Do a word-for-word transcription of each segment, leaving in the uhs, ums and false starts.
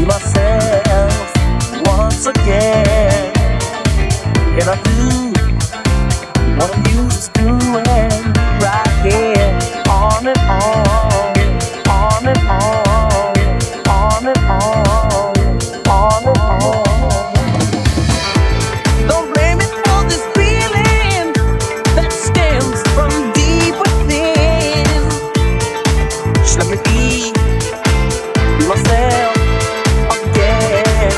be myself once again. Can I do what I'm used to doing right here? On and on, on and on, on and on, on and on. Don't blame me for this feeling that stems from deep within. Just let me be, be myself again.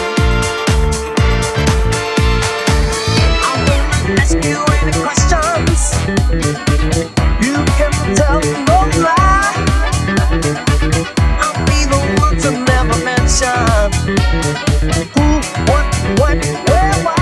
I won't ask you any questions. You can tell no lie. I'll be the one to never mention who, what, when, where, why.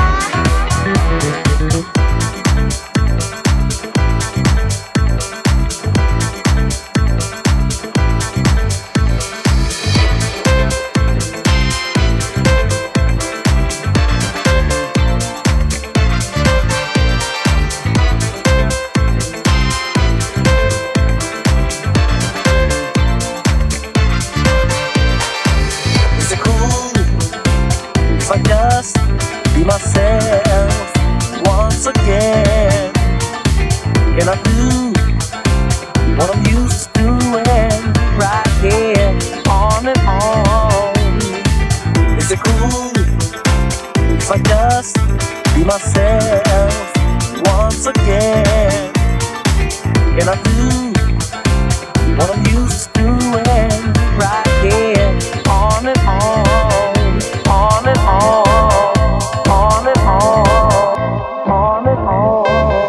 Is it cool if I just be myself once again? Can I do what I'm used to doing right here? On and on. Is it cool if I just be myself once again? Can I do what I'm used to doing right here? On and on, on and on, on and on, on and on.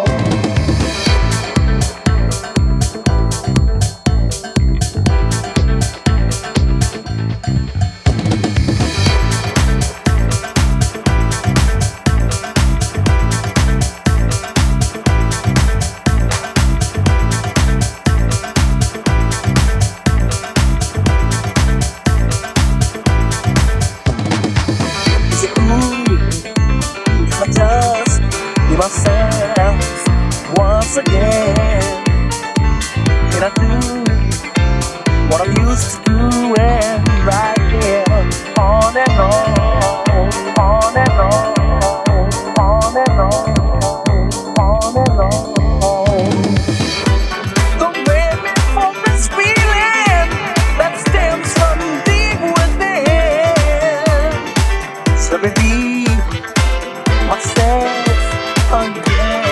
Is it cool if I just be myself once again? Can I do what I'm used to doing right here? On and on, on and on, on and on, on and on. Don't blame me for this feeling that stems from deep within. So let me be myself again.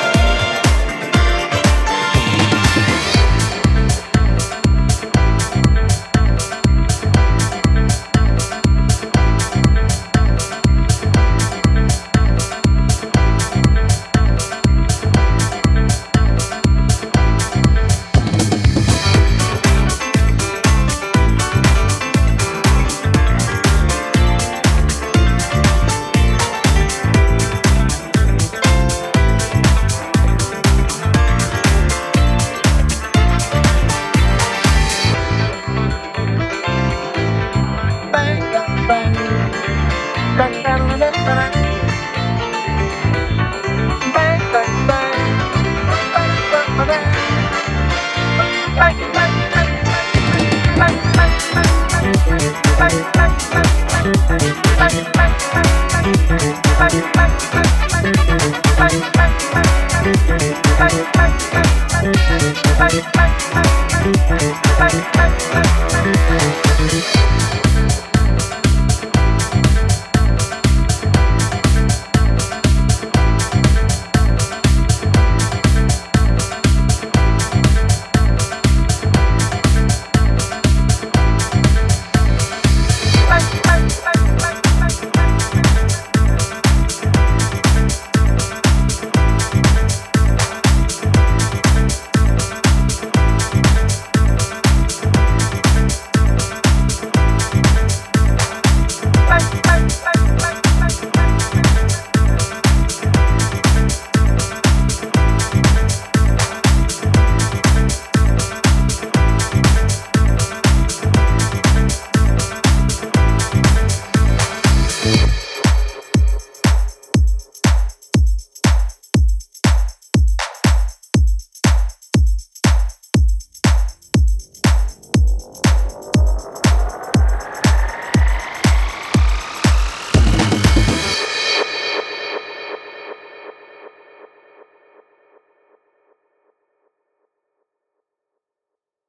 Bang, bang, bang. Bang, bang, bang, bang. Bang, bang, bang. Bang, bang, bang. Bang, bang, bang. Bang, bang, bang. Bang, bang, bang. Bang, bang, bang. Bang, bang, bang. Bang, bang, bang. Bang, bang, bang. Bang, bang, bang. Bang, bang, bang.